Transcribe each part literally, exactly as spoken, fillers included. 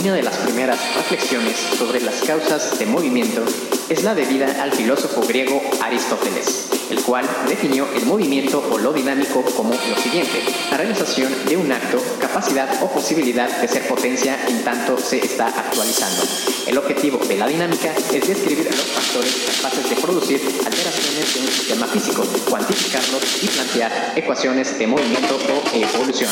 Una de las primeras reflexiones sobre las causas de movimiento es la debida al filósofo griego Aristóteles, el cual definió el movimiento o lo dinámico como lo siguiente: la realización de un acto, capacidad o posibilidad de ser potencia en tanto se está actualizando. El objetivo de la dinámica es describir los factores capaces de producir alteraciones de un sistema físico, cuantificarlos y plantear ecuaciones de movimiento o evolución.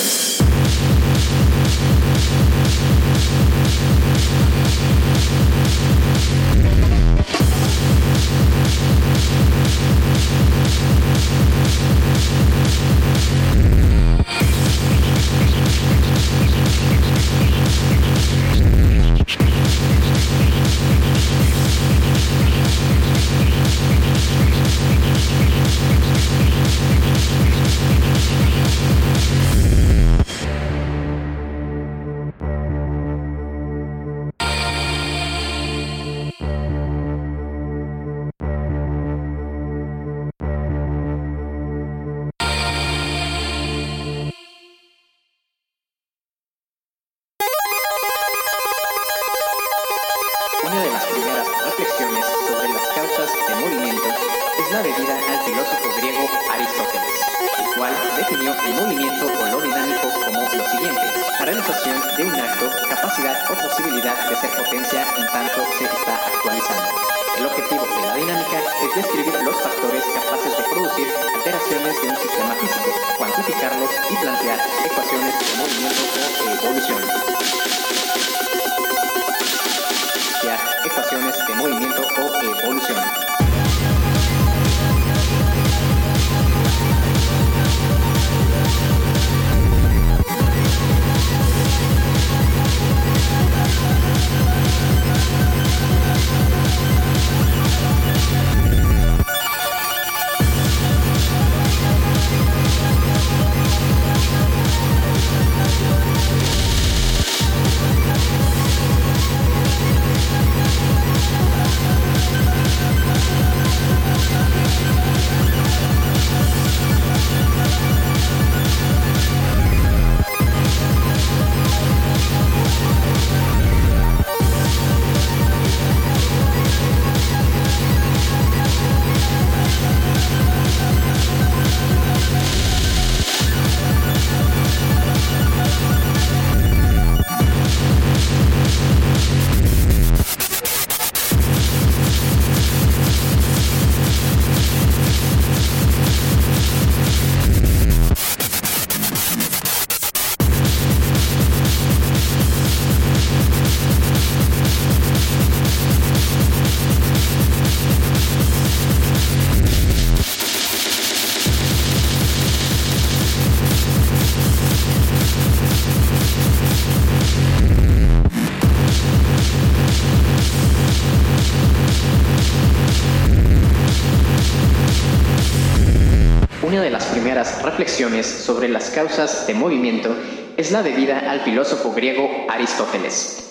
Una de las primeras reflexiones sobre las causas de movimiento es la debida al filósofo griego Aristóteles, el cual definió el movimiento o lo dinámico como lo siguiente: la realización de un acto, capacidad o posibilidad de ser potencia en tanto se está actualizando. El objetivo de la dinámica es describir los factores capaces de producir alteraciones de un sistema físico, cuantificarlos y plantear ecuaciones de movimiento o evolución. Ecuaciones de movimiento o evolución. Una de las primeras reflexiones sobre las causas de movimiento es la debida al filósofo griego Aristóteles,